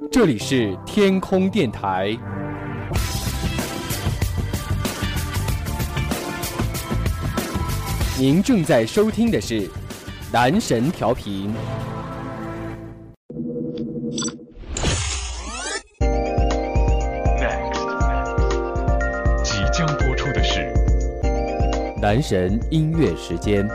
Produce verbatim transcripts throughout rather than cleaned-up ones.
这里是天空电台。您正在收听的是男神调频。 即将播出的是男神音乐时间。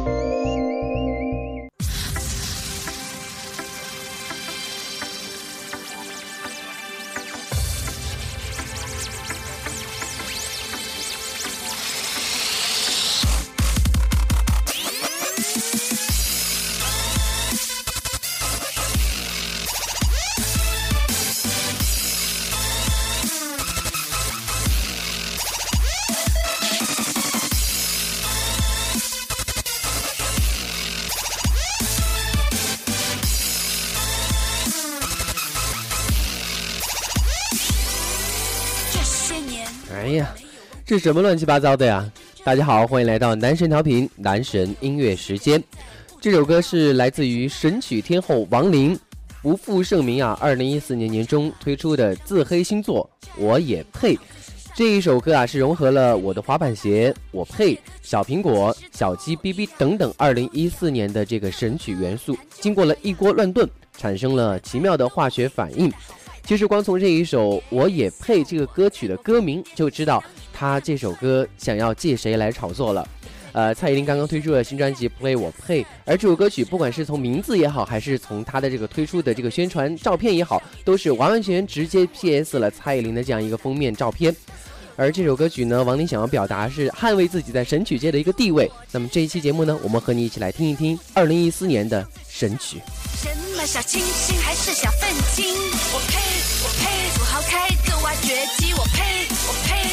哎呀，这什么乱七八糟的呀！大家好，欢迎来到男神调频男神音乐时间。这首歌是来自于神曲天后王琳不负盛名啊，二零一四年年中推出的自黑新作《我也配》。这一首歌啊，是融合了我的滑板鞋、我配、小苹果、小鸡哔哔等等二零一四年的这个神曲元素，经过了一锅乱炖，产生了奇妙的化学反应。其实光从这一首《我也配》这个歌曲的歌名就知道他这首歌想要借谁来炒作了。呃，蔡依林刚刚推出了新专辑《Play 我配》，而这首歌曲不管是从名字也好，还是从他的这个推出的这个宣传照片也好，都是完完全全直接 P S 了蔡依林的这样一个封面照片。而这首歌曲呢，王琳想要表达是捍卫自己在神曲界的一个地位。那么这一期节目呢，我们和你一起来听一听二零一四年的神曲。 什么小清新还是小愤青，我配我配，土豪开个挖掘机，我配我配。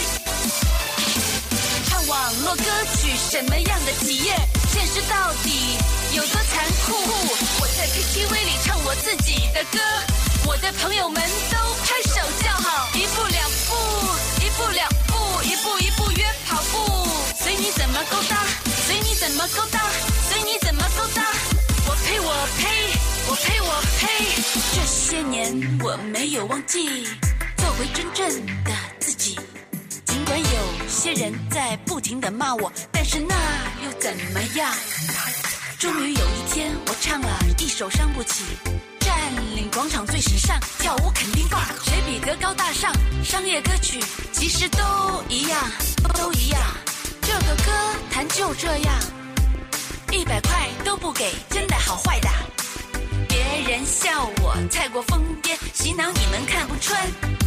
唱网络歌曲什么样的体验，现实到底有多残酷，我在 K T V 里唱我自己的歌，我的朋友们都拍手叫好，一步两步一步两步，一步一步约跑步，随你怎么勾搭，随你怎么勾搭，随你怎么勾搭，我配我配我配我配。这些年我没有忘记做回真正的自己，尽管有些人在不停地骂我，但是那又怎么样。终于有一天我唱了一首伤不起，占领广场最时尚，跳舞肯定棒，谁比得高大上，商业歌曲其实都一样都一样，这个歌坛就这样，一百块都不给，真的好坏的。别人笑我太过疯癫，洗脑你们看不穿。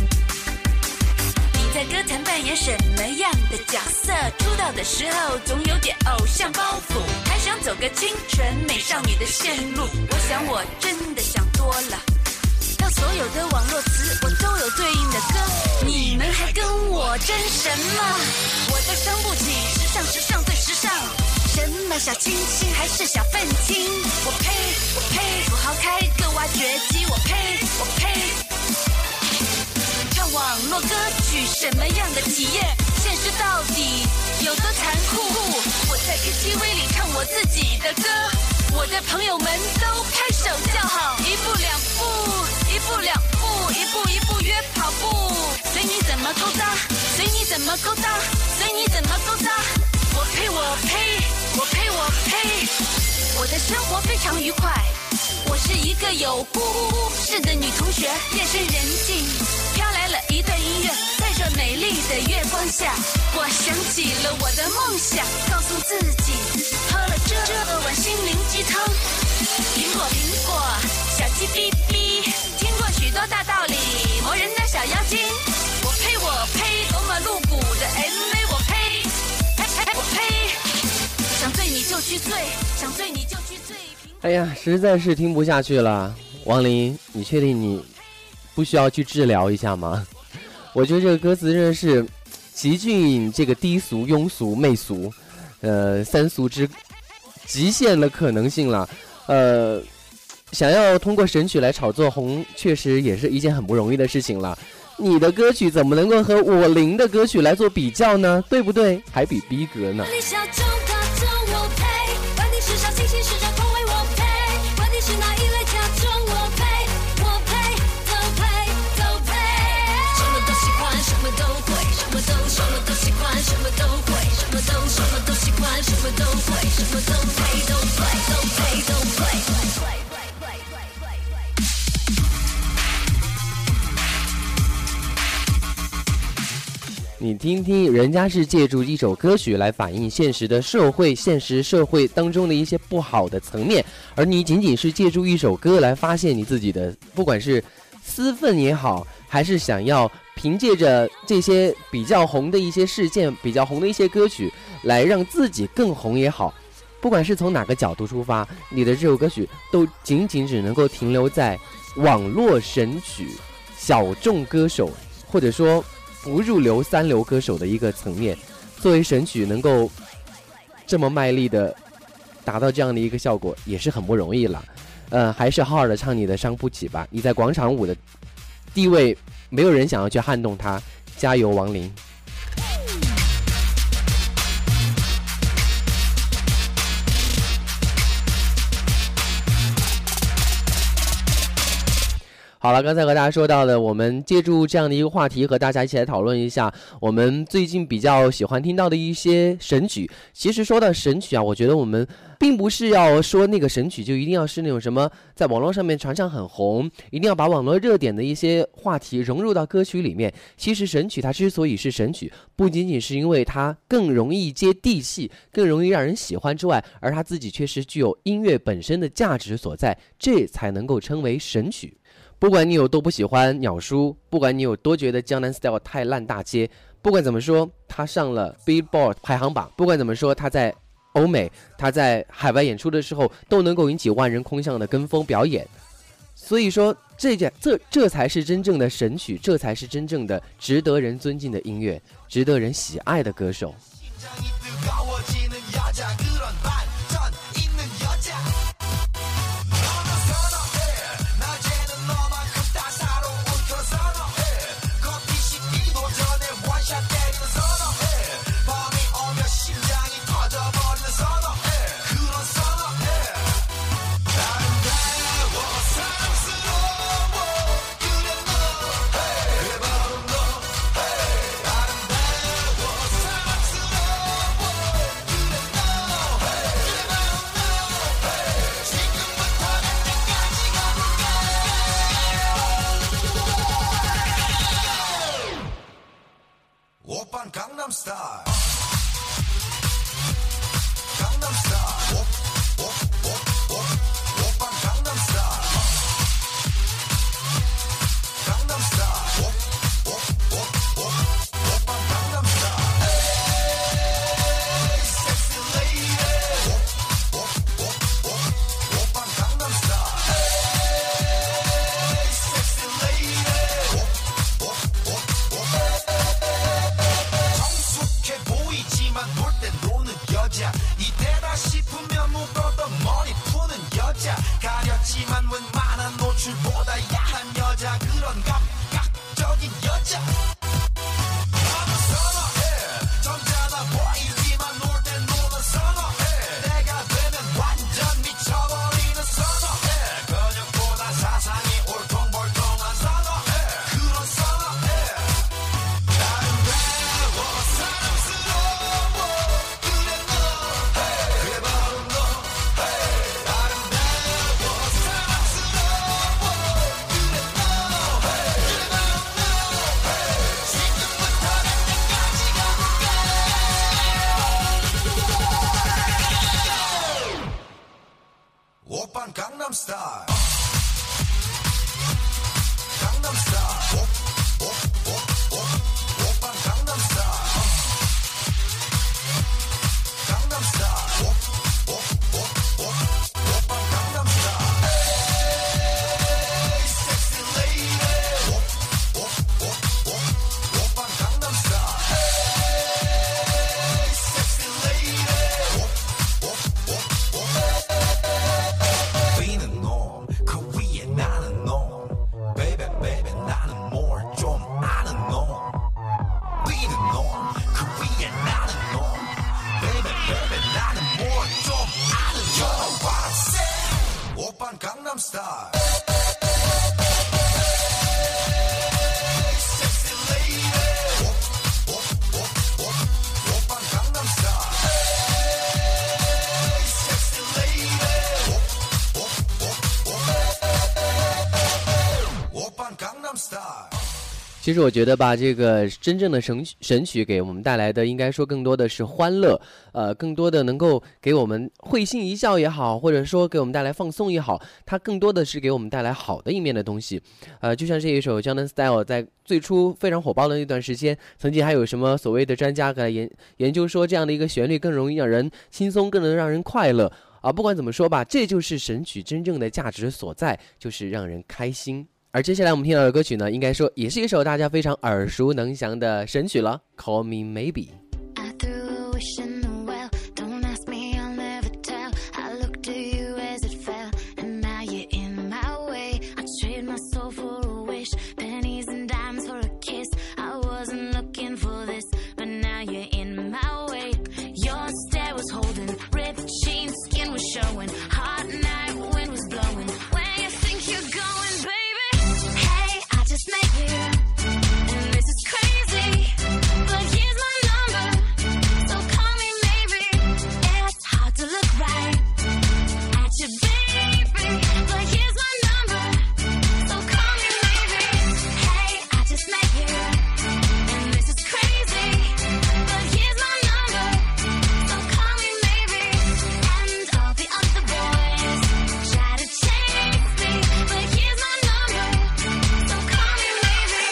你在歌坛扮演什么样的角色？出道的时候总有点偶像包袱，还想走个清纯美少女的线路。我想我真的想多了，到所有的网络词我都有对应的歌，你们还跟我争什么？我的伤不起，时尚时尚最时尚。什么小清新还是小愤青，我配我配，土豪开个挖掘机，我配我配。唱网络歌曲什么样的体验，现实到底有多残酷，我在 K T V 里唱我自己的歌，我的朋友们都拍手叫好，一步两步一步两步，一步一步约跑步，随你怎么勾搭，随你怎么勾搭，随你怎么勾搭，我配我配我配我配。我的生活非常愉快，我是一个有故事的女同学，夜深人静飘来了一段音乐，在这美丽的月光下，我想起了我的梦想，告诉自己喝了这碗心灵鸡汤。苹果苹果小鸡哔哔，听过许多大道理，磨人的小妖精，我配我配，多么露骨的 M V， 我配我配，想醉你就去醉，想醉你就去醉。 哎呀，实在是听不下去了。王琳，你确定你不需要去治疗一下吗？我觉得这个歌词真的是极尽这个低俗、庸俗、媚俗，呃，三俗之极限的可能性了。呃，想要通过神曲来炒作红，确实也是一件很不容易的事情了。你的歌曲怎么能够和我琳的歌曲来做比较呢？对不对？还比逼格呢。 是哪一类假装我配，我配，都配。 你听听，人家是借助一首歌曲来反映现实的社会，现实社会当中的一些不好的层面，而你仅仅是借助一首歌来发现你自己的，不管是私愤也好，还是想要凭借着这些比较红的一些事件、比较红的一些歌曲来让自己更红也好，不管是从哪个角度出发，你的这首歌曲都仅仅只能够停留在网络神曲、小众歌手，或者说不入流三流歌手的一个层面。作为神曲能够这么卖力的达到这样的一个效果也是很不容易了。呃，还是好好的唱你的伤不起吧，你在广场舞的地位没有人想要去撼动它，加油王琳。好了，刚才和大家说到的，我们借助这样的一个话题和大家一起来讨论一下我们最近比较喜欢听到的一些神曲。其实说到神曲啊，我觉得我们并不是要说那个神曲就一定要是那种什么在网络上面传唱很红，一定要把网络热点的一些话题融入到歌曲里面。其实神曲它之所以是神曲，不仅仅是因为它更容易接地气，更容易让人喜欢之外，而它自己确实具有音乐本身的价值所在，这才能够称为神曲。不管你有多不喜欢鸟叔，不管你有多觉得江南 style 太烂大街，不管怎么说他上了 Billboard 排行榜，不管怎么说他在欧美，他在海外演出的时候都能够引起万人空巷的跟风表演。所以说这件这这才是真正的神曲，这才是真正的值得人尊敬的音乐，值得人喜爱的歌手。 Gangnam Style Gangnam Style Op, op, op, op, oppan Gangnam Style Gangnam Style Op, op, op, op, oppan Gangnam Style Hey, sexy lady Op, op, op, op, oppan Gangnam Style Hey, sexy lady Op, op, op, op 보이지만 놀 땐 노는 여자 이때다 싶으면 묶었던 머리 푸는 여자 가렸지만 웬만한 노출보다 야한 여자 그런 감각적인 여자 나는 선어해 점잖아 보이지만 놀 땐 노는 선어해 내가 되면 완전 미쳐버리는 선어해 근육보다 사상이 올통벌통한 선어해 그런 선어해 아름다워 사랑스러워 그래 너 그래 바로 너 아름다워 사랑스러워 그래 너 그래 바로 너 지금부터 갈 때까지 가볼게 오빤 강남 스타일 강남 스타일 오, 오, 오, 오, 오빤 강남 스타일 강남 스타일 오, 오, 오, 오, 오빤 강남 스타일 Hey, sexy lady 오, 오, 오, 오, 오빤 강남 스타일 Hey, sexy lady 오, 오, 오, 오 Being a norm 그 위에 나는 놈 Baby baby 나는 more 其实我觉得吧，这个真正的神神曲给我们带来的，应该说更多的是欢乐，呃，更多的能够给我们会心一笑也好，或者说给我们带来放松也好，它更多的是给我们带来好的一面的东西。呃，就像这一首《Gangnam Style》在最初非常火爆的那段时间，曾经还有什么所谓的专家来研研究说，这样的一个旋律更容易让人轻松，更能让人快乐啊。不管怎么说吧，这就是神曲真正的价值所在，就是让人开心。而接下来我们听到的歌曲呢，应该说也是一首大家非常耳熟能详的神曲了， Call Me Maybe。 I threw a wish in the well. Don't ask me, I'll never tell. I looked to you as it fell, and now you're in my way. I trade my soul for a wish, pennies and dimes for a kiss. I wasn't looking for this, but now you're in my way. Your stare was holding, ripped jeans, skin was showing. Hot night, wind was blowing. Where you think you're going, baby?Hey, I just met you, and this is crazy, but here's my number, so call me maybe. It's hard to look right at you, baby, but here's my number, so call me maybe. Hey, I just met you, and this is crazy, but here's my number, so call me maybe. And all the other boys try to chase me, but here's my number.So call me maybe.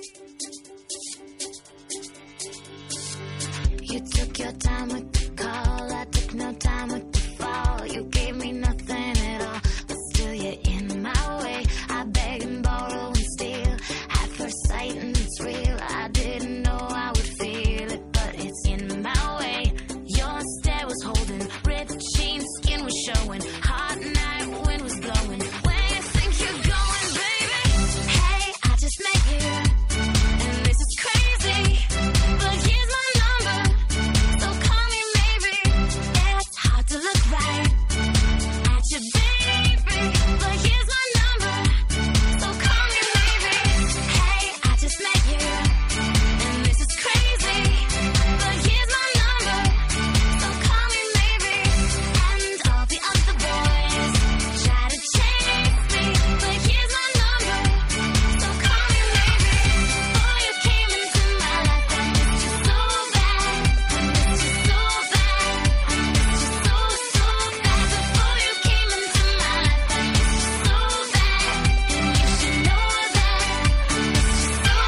You took your time with the call, I took no time with the fall. You gave me nothing at all, but still you're in my way. I beg and borrow and steal at first sight, and it's real. I didn't know I would feel it, but it's in my way. Your stare was holding, ripped jeans, skin was showing. Hot night, wind was blowing. Where you think you're going, baby?I just met you, and this is crazy, but here's my number, so call me maybe. It's hard to look right at you, baby, but here's my number, so call me maybe. Hey, I just met you, and this is crazy, but here's my number, so call me maybe. And all the other boys try to chase me, but here's my number.So call me maybe. Before you came into my life, I missed you so bad. I missed you so bad. I missed you so, so bad. Before you came into my life, I missed you so bad. And you should know that I missed you so,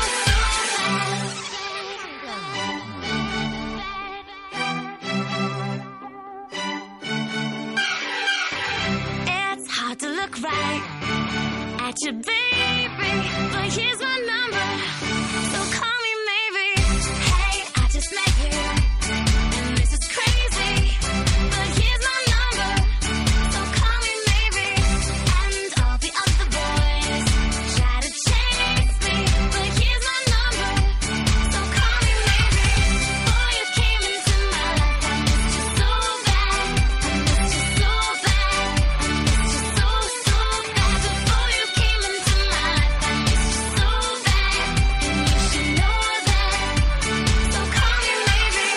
so bad.It's hard to look right at you, baby, but here's my number, so call me maybe. Hey, I just met you, and this is crazy, but here's my number, so call me maybe. And all the other boys try to chase me, but here's my number, so call me maybe. Before you came into my life, I missed you so bad. I missed you so bad. I missed you so, so bad. Before you came into my life, I missed you so bad. And you should know that, so call me maybe.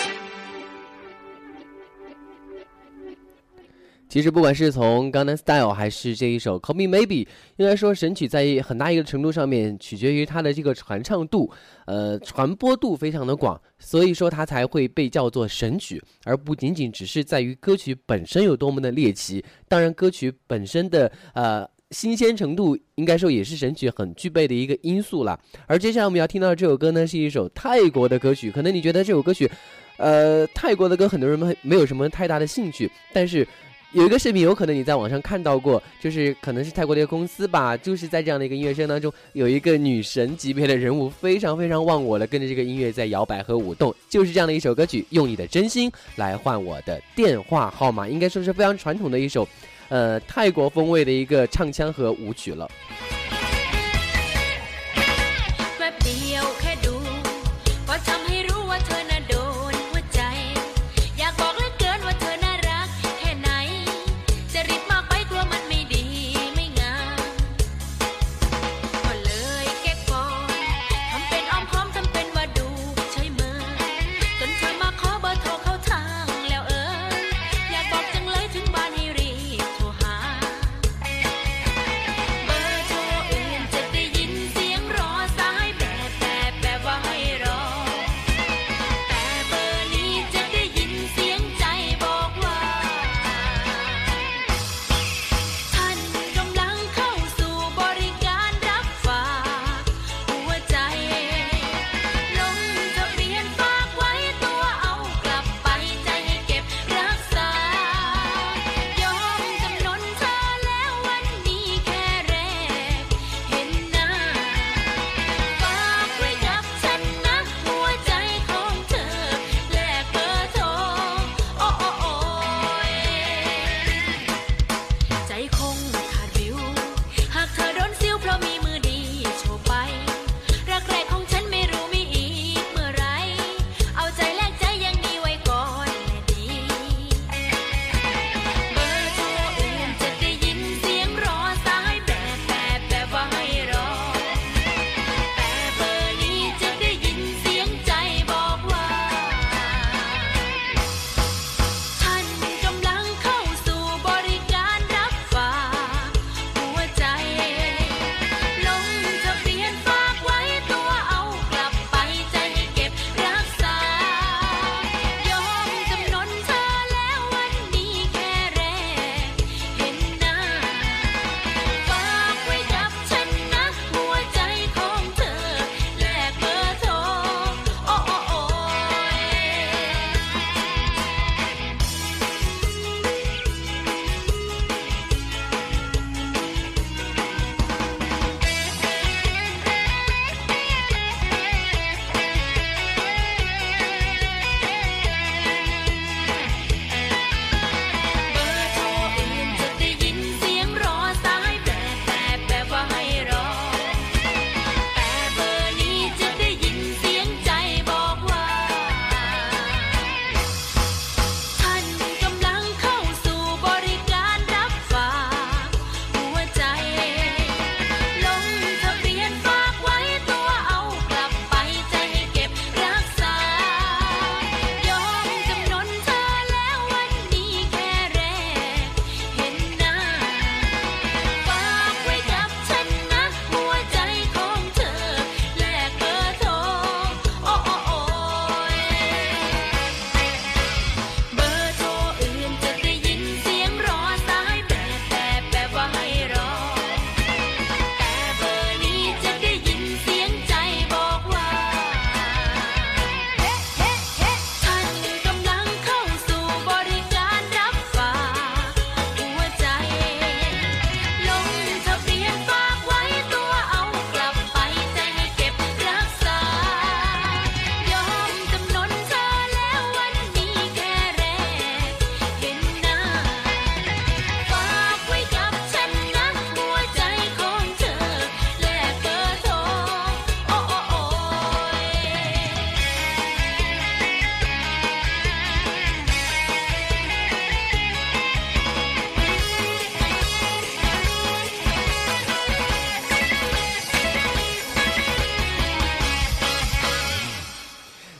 其实不管是从 Gangnam Style 还是这一首 Call Me Maybe， 应该说神曲在很大一个程度上面取决于它的这个传唱度，呃，传播度非常的广，所以说它才会被叫做神曲，而不仅仅只是在于歌曲本身有多么的猎奇。当然歌曲本身的呃新鲜程度应该说也是神曲很具备的一个因素啦。而接下来我们要听到的这首歌呢，是一首泰国的歌曲。可能你觉得这首歌曲呃泰国的歌很多人没没有什么太大的兴趣，但是有一个视频有可能你在网上看到过，就是可能是泰国的一个公司吧，就是在这样的一个音乐声当中，有一个女神级别的人物非常非常忘我了，跟着这个音乐在摇摆和舞动，就是这样的一首歌曲，用你的真心来换我的电话号码，应该说是非常传统的一首呃泰国风味的一个唱腔和舞曲了。 เบอร์โทรอื่นจะได้ยินเสียงรอสายแบบแบบ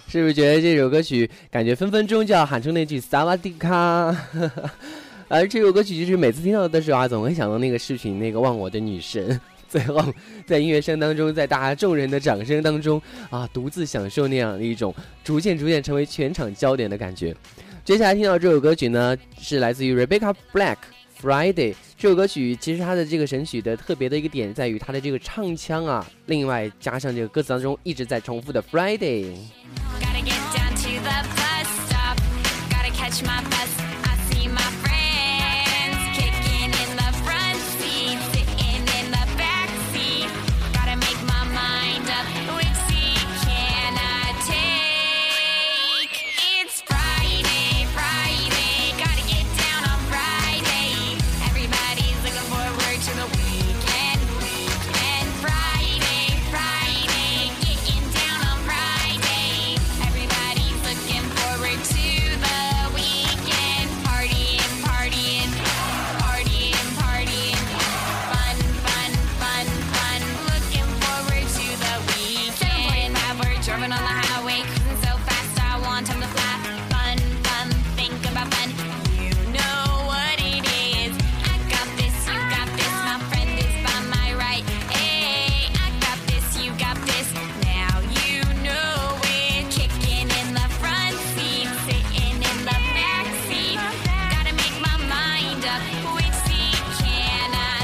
是不是觉得这首歌曲感觉分分钟就要喊出那句萨瓦迪卡？而这首歌曲就是每次听到的时候啊，总会想到那个视频那个忘我的女神，最后在音乐声当中，在大家众人的掌声当中啊，独自享受那样的一种逐渐逐渐成为全场焦点的感觉。接下来听到这首歌曲呢，是来自于 Rebecca Black。Friday 这首歌曲其实它的这个神曲的特别的一个点在于它的这个唱腔啊，另外加上这个歌词当中一直在重复的 Friday。 Gotta get down to the bus stop. Gotta catch my bus. I see my friends kicking in the front seat, sitting in the back seat. Gotta make my mind up. Which seat can I take? It's Friday, Friday. Gotta get down on Friday. Everybody's looking forward to the weekend, weekend. Friday, Friday. Getting down on Friday. Everybody's looking forward to the weekend. Partying, partying, partying, partying. Fun, fun, fun, fun. Looking forward to the weekend. We're driving on the highway, cruising so fast. I want time to fly. Fun, fun, think about fun. You know what it is. I got this, you got this. My friend is by my right. Hey, I got this, you got this. Now you know it. Kicking in the front seat, sitting in the back seat. Gotta make my mind up. Which seat can I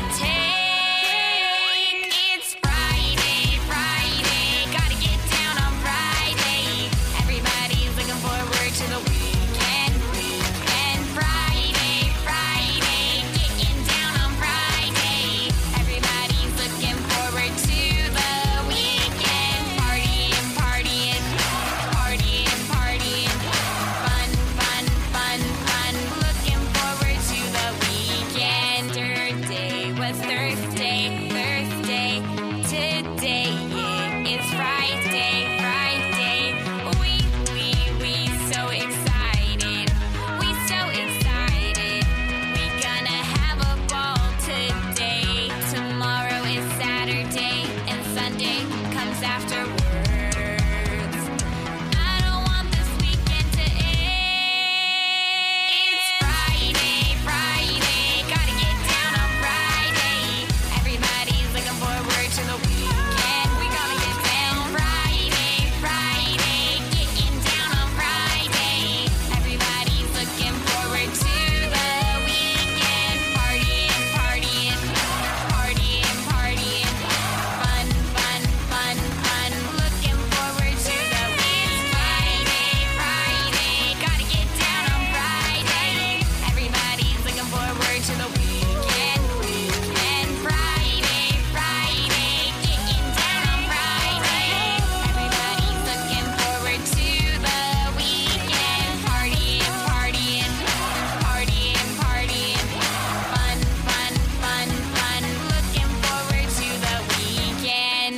take? It's Friday, Friday. Gotta get down on Friday. Everybody's looking forward to the weekend, weekend. Friday, Friday. Getting down on Friday. Everybody's looking forward to the weekend. Partying, partying, partying, partying. Fun, fun, fun, fun. Looking forward to the weekend. Thursday was Thursday, Thursday. Today, yeah, it's Friday, Friday. We, we, we so excited. We so excited. We gonna have a ball today. Tomorrow is Saturday and Sunday comes afterwards. I don't want this weekend to end. It's Friday, Friday. Gotta get down on Friday. Everybody's looking forward to the weekend. We gonna get down Friday, Friday. Getting down on Friday. Everybody's looking forward to the weekend. Partying, partying, partying, partying. Fun, fun, fun, fun. Looking forward to the weekend. Friday, Friday. Gotta get down on Friday. Everybody's looking forward to the weekend, weekend. Friday, Friday. Getting down on Friday. Everybody's looking forward to the weekend. Partying, partying, partying, partying. Fun, fun, fun, fun. Looking forward to the weekend.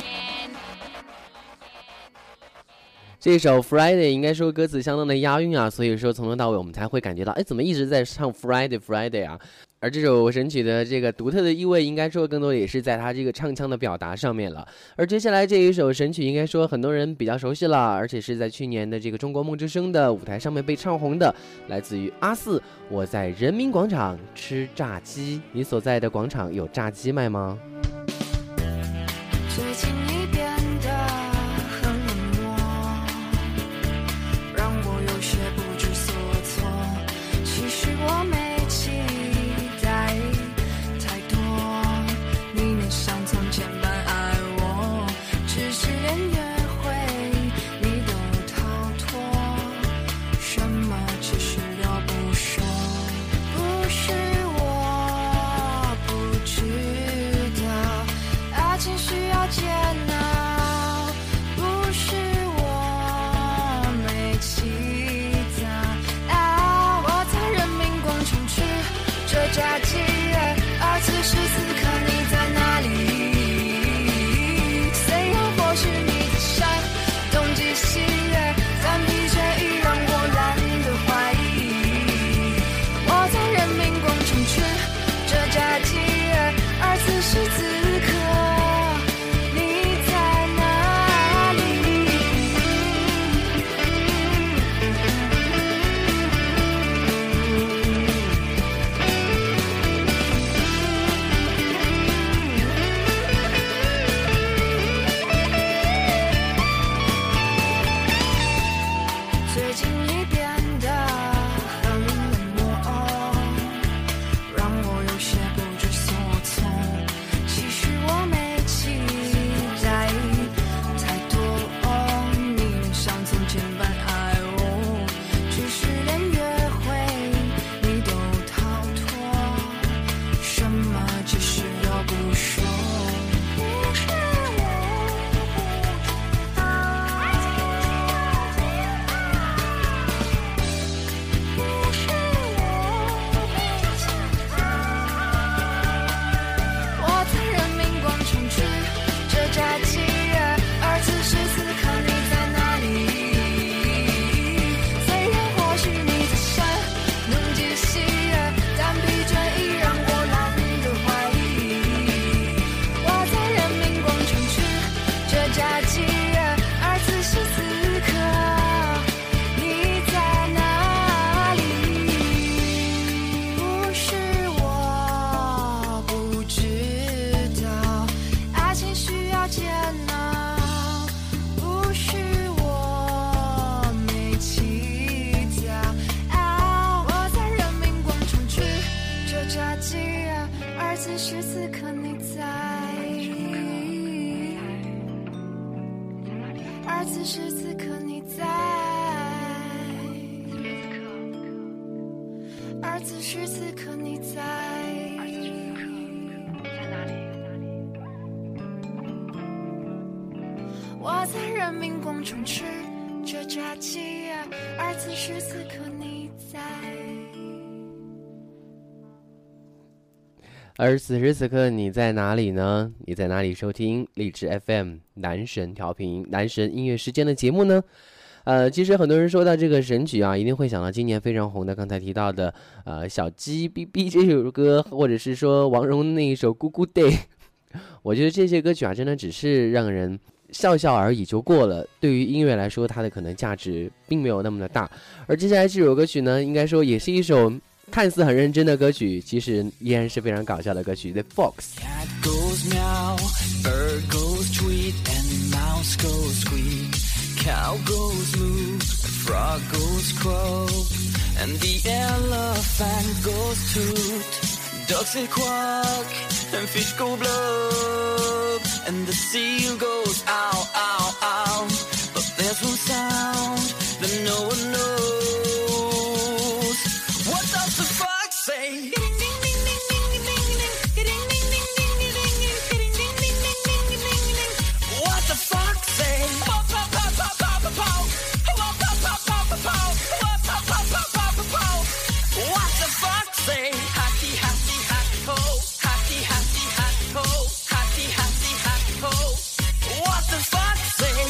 这首 Friday 应该说歌词相当的押韵啊，所以说从头到尾我们才会感觉到，哎，怎么一直在唱 Friday Friday 啊？而这首神曲的这个独特的意味，应该说更多的也是在它这个唱腔的表达上面了。而接下来这一首神曲，应该说很多人比较熟悉了，而且是在去年的这个中国梦之声的舞台上面被唱红的，来自于阿四。我在人民广场吃炸鸡，你所在的广场有炸鸡卖吗？ 最近你变得很冷漠，让我有些不知所措。其实我没期待太多，你能像从前般爱我，只是连约会你都逃脱，什么其实都不说。不是我不知道，爱情需要坚而此时此刻你在，而此时此刻你在，我在人民广场吃着炸鸡，而此时此刻你在。 而此时此刻你在哪里呢？你在哪里收听荔枝 F M 男神调频男神音乐时间的节目呢？呃，其实很多人说到这个神曲啊，一定会想到今年非常红的刚才提到的呃小鸡哔哔这首歌，或者是说王蓉那一首咕咕 day。我觉得这些歌曲啊，真的只是让人笑笑而已就过了，对于音乐来说它的可能价值并没有那么的大。而接下来这首歌曲呢，应该说也是一首看似很认真的歌曲，其实依然是非常搞笑的歌曲 The Fox。Cat goes meow, bird goes tweet, and mouse goes squeak. Cow goes moo, frog goes croak, and the elephant goes toot. Ducks say quack, and fish go blub, and the seal goes ow, ow, ow. But there's one sound that no one knows.What does the fox say? What the fox say? What the fox say? Hatty, hatty, hat ho. Hatty, hatty, hat ho. Hatty, hatty, hat ho. What the fox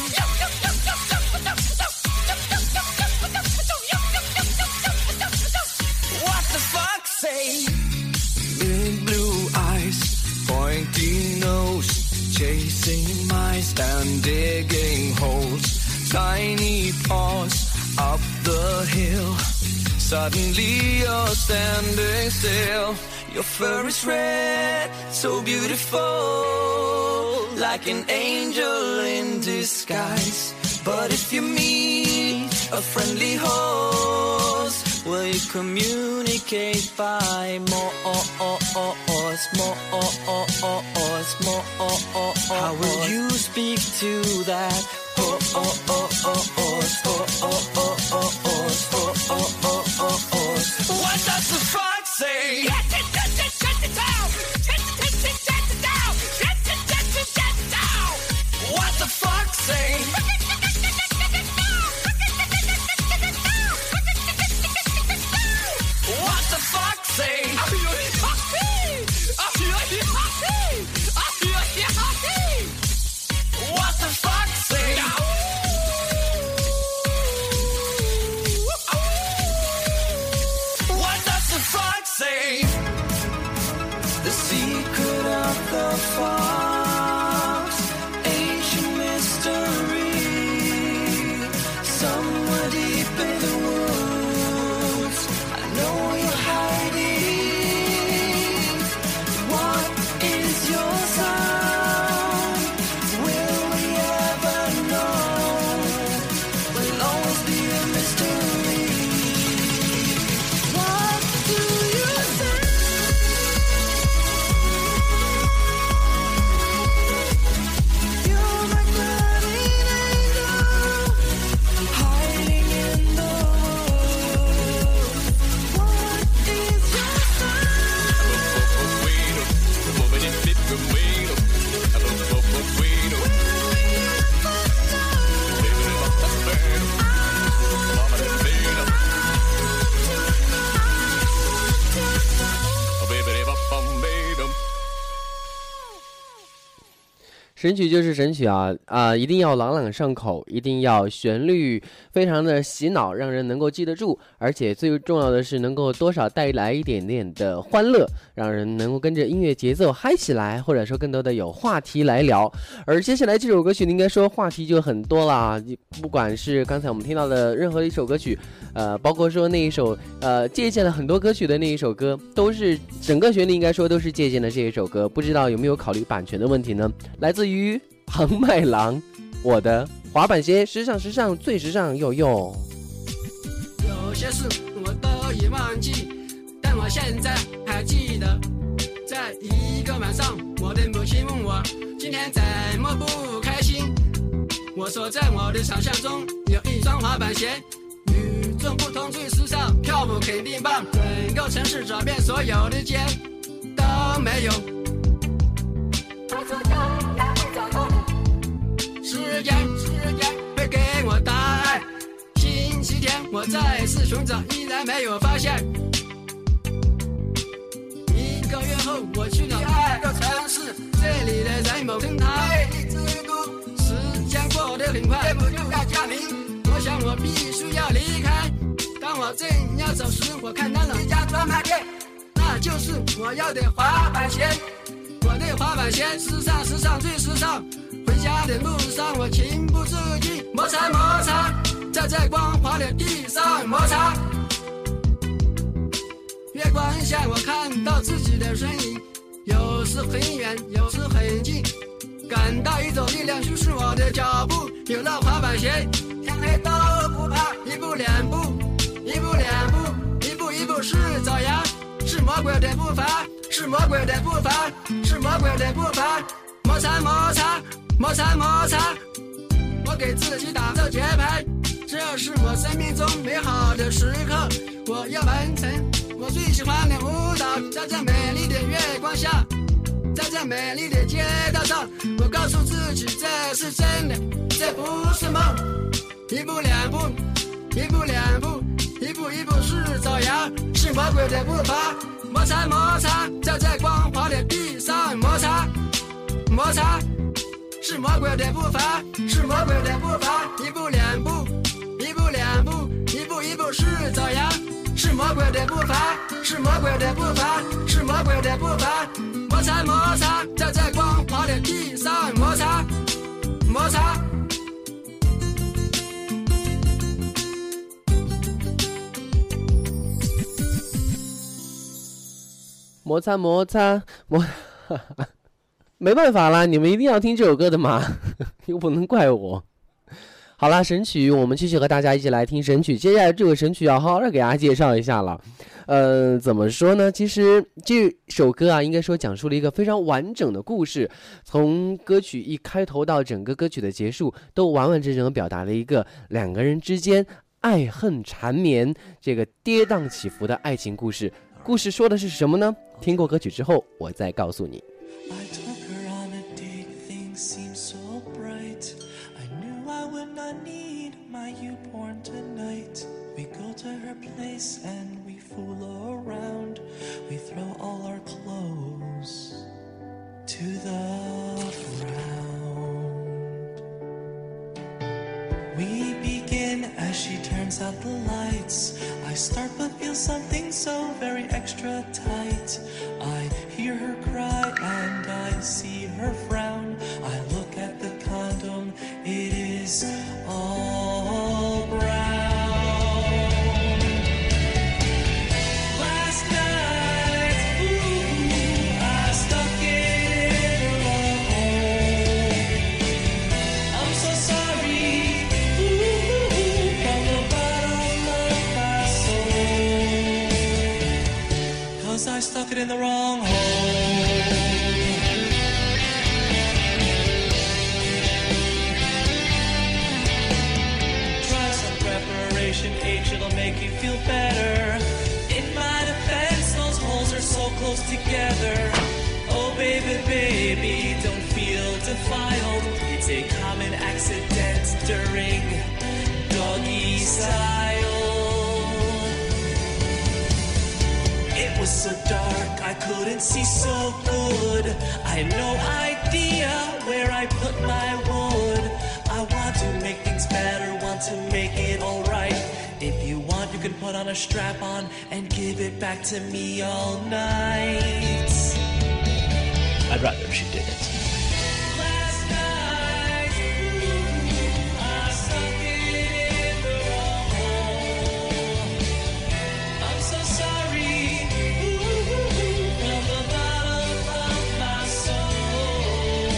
say?Say, big blue eyes, pointy nose, chasing mice and digging holes, tiny paws up the hill. Suddenly you're standing still. Your fur is red, so beautiful, like an angel in disguise. But if you meet a friendly horse, will you communicate by more, more, more? How will you speak to that horse? What does the fox say? What the fox say?What the fox say? What the fox say? What does the fox say? The secret of the fox, ancient mystery, somewhere deep in the woods.Know you're hiding. What is your sound? Will we ever know? Will always be a mystery. What do you say? You're my guardian angel, hiding in the woods.神曲就是神曲啊啊、呃！一定要朗朗上口，一定要旋律非常的洗脑，让人能够记得住，而且最重要的是能够多少带来一点点的欢乐，让人能够跟着音乐节奏嗨起来，或者说更多的有话题来聊。而接下来这首歌曲应该说话题就很多啦，不管是刚才我们听到的任何一首歌曲，呃，包括说那一首呃借鉴了很多歌曲的那一首歌，都是整个旋律应该说都是借鉴的这一首歌，不知道有没有考虑版权的问题呢？来自于庞麦郎，我的滑板鞋时尚时尚最时尚哟哟。 有些事我都已忘记，但我现在还记得，在一个晚上，我的母亲问我今天怎么不开心， 我说在我的想象中有一双滑板鞋，与众不同最时尚，跳舞肯定棒，整个城市找遍所有的街都没有。我说将来会找到你，时间时间会给我答案。星期天我再次寻找，依然没有发现。一个月后我去了第二个城市，这里的人某跟他魅力之都，时间过得很快，不就要加名？我想我必须要离开。当我正要走时，我看到了一家专卖店，那就是我要的滑板鞋。我的滑板鞋时尚时尚最时尚。回家的路上我情不自禁摩擦摩擦，在这光滑的地上摩擦。月光下我看到自己的身影，有时很远有时很近，感到一种力量驱使我的脚步。有了滑板鞋，天黑都不怕，一步两步一步两步一步一步是走呀，是魔鬼的步伐，是魔鬼的步伐，是魔鬼的步伐。摩擦摩擦摩擦摩擦，我给自己打着节拍，这是我生命中美好的时刻。我要完成我最喜欢的舞蹈，在这美丽的月光下，在这美丽的街道上，我告诉自己这是真的，这不是梦。一步两步一步两步一步一步是走呀，是魔鬼的步伐。摩擦摩擦，在这光滑的地上摩擦摩擦，是魔鬼的步伐，是魔鬼的步伐。一步两步一步两步一步一步是走呀，是魔鬼的步伐，是魔鬼的步伐，是魔鬼的步伐。摩擦摩擦，在这光滑的地上摩擦摩擦。 摩擦摩擦摩没办法啦，你们一定要听这首歌的嘛，又不能怪我。好啦，神曲我们继续和大家一起来听神曲。接下来这个神曲要好好的给大家介绍一下了。呃，怎么说呢？其实这首歌啊，应该说讲述了一个非常完整的故事，从歌曲一开头到整个歌曲的结束，都完完整整的表达了一个两个人之间爱恨缠绵、这个跌宕起伏的爱情故事。故事说的是什么呢？听过歌曲之后，我再告诉你。 I took her on a date, things seemed so bright. I knew I would not need my U-Born tonight. We go to her place and we fool around. We throw all our clothes to the ground. We begin as she turns out the lights. I start but feel something so very extra tight. I hear her cry and I see her frown. I look at the condom, it is all brown. Last night, ooh, I stuck it in the wrong hole. I'm so sorry, ooh, from the bottom of my soul, 'cause I stuck it in the wrong hole. Try some preparation H, it'll make you feel better. In my defense, those holes are so close together. Oh baby, baby, don't feel defiled. It's a common accident during doggy style. It was so dark, I couldn't see so good. I had no idea where I put my wood. I want to make things better, want to make it alright. If you want, you can put on a strap on and give it back to me all night. I'd rather if she didn't. Last night, ooh, I stuck it in the wrong hole. I'm so sorry, ooh, from the bottom of my soul.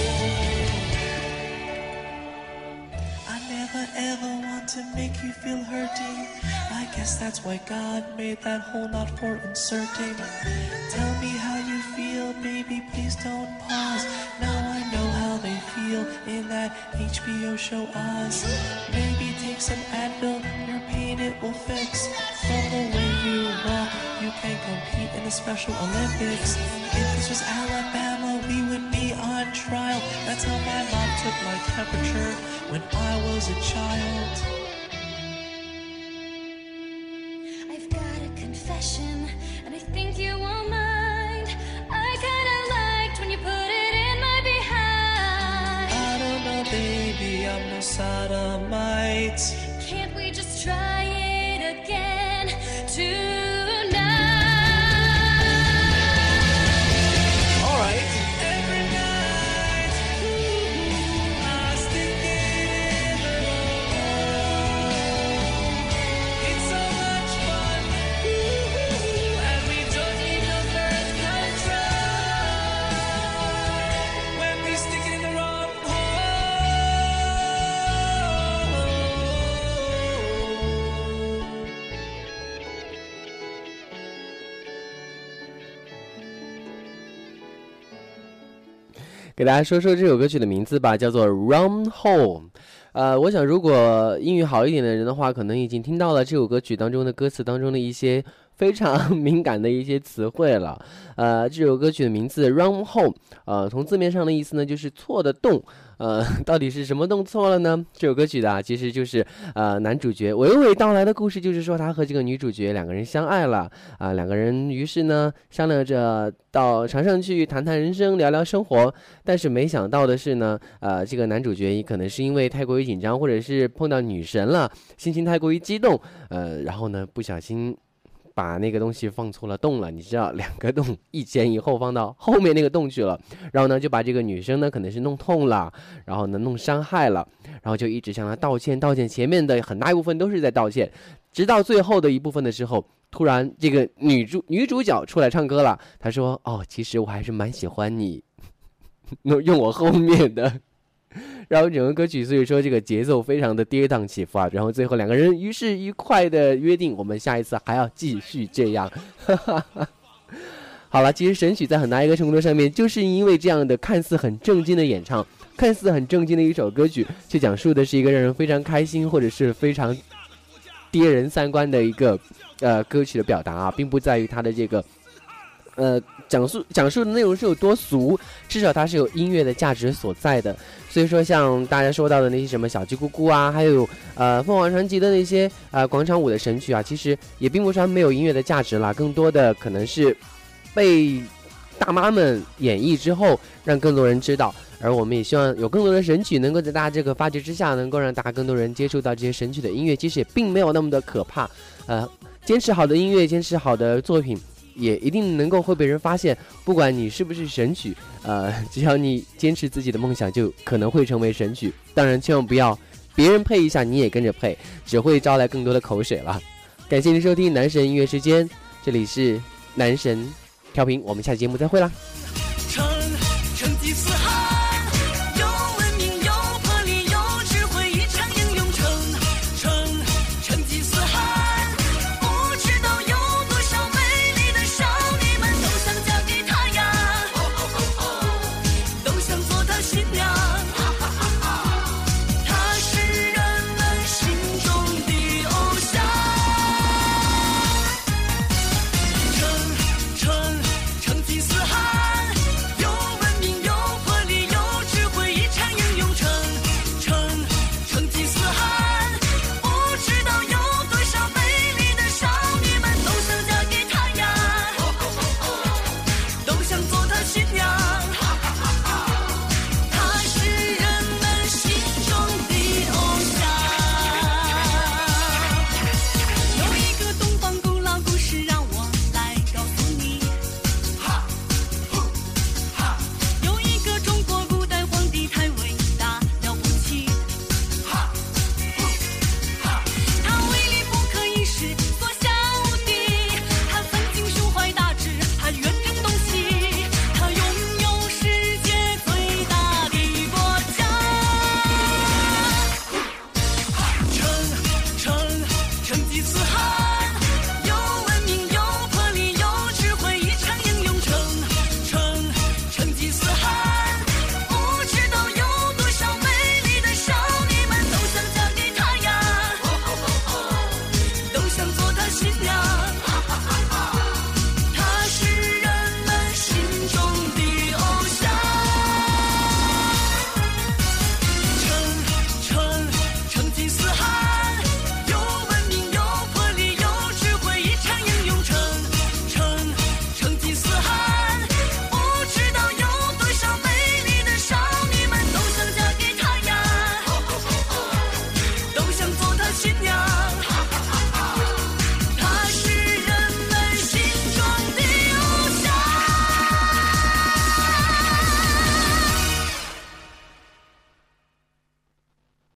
I never ever want to make you feel hurting. I guess that's why God made that hole not for inserting. Tell me how you feel, baby, please don't pause. Now I know how they feel in that that H B O show Oz. Maybe take some Advil, your pain it will fix. From the way you walk, you can compete in the Special Olympics. If this was Alabama, we would be on trial. That's how my mom took my temperature when I was a child. I've got a confession, and I think you won't mind. I kinda liked when you put it in my behind. I don't know, baby, I'm no sodomite. Can't we just try it again tonight? Alright. Every night, ooh, I stick it in the road. It's so much fun, ooh, and we don't need no birth control when we stick it in the wrong hole. 给大家说说这首歌曲的名字吧，叫做 Run Home。呃，我想如果英语好一点的人的话，可能已经听到了这首歌曲当中的歌词当中的一些非常敏感的一些词汇了。呃，这首歌曲的名字 Run Home， 呃，从字面上的意思呢，就是错的动。呃，到底是什么动错了呢？这首歌曲的啊，其实就是呃男主角娓娓道来的故事，就是说他和这个女主角两个人相爱了啊、呃，两个人于是呢商量着到船上去谈谈人生，聊聊生活。但是没想到的是呢，呃，这个男主角可能是因为太过于紧张，或者是碰到女神了，心情太过于激动，呃，然后呢不小心把那个东西放错了洞了，你知道，两个洞一前一后放到后面那个洞去了，然后呢就把这个女生呢可能是弄痛了，然后呢弄伤害了，然后就一直向她道歉道歉，前面的很大一部分都是在道歉，直到最后的一部分的时候，突然这个女主女主角出来唱歌了，她说哦，其实我还是蛮喜欢你用我后面的，然后整个歌曲所以说这个节奏非常的跌宕起伏啊，然后最后两个人于是愉快的约定，我们下一次还要继续这样。好了，其实神曲在很大一个程度上面就是因为这样的看似很正经的演唱，看似很正经的一首歌曲，却讲述的是一个让人非常开心或者是非常跌人三观的一个呃歌曲的表达啊，并不在于它的这个呃讲述讲述的内容是有多俗，至少它是有音乐的价值所在的。所以说像大家说到的那些什么小鸡咕咕啊，还有呃凤凰传奇的那些呃广场舞的神曲啊，其实也并不是没有音乐的价值啦，更多的可能是被大妈们演绎之后让更多人知道，而我们也希望有更多的神曲能够在大家这个发掘之下，能够让大家更多人接触到这些神曲的音乐，其实也并没有那么的可怕。呃，坚持好的音乐，坚持好的作品，也一定能够会被人发现，不管你是不是神曲，呃，只要你坚持自己的梦想，就可能会成为神曲。当然，千万不要别人配一下，你也跟着配，只会招来更多的口水了。感谢您收听男神音乐时间，这里是男神调频，我们下期节目再会啦。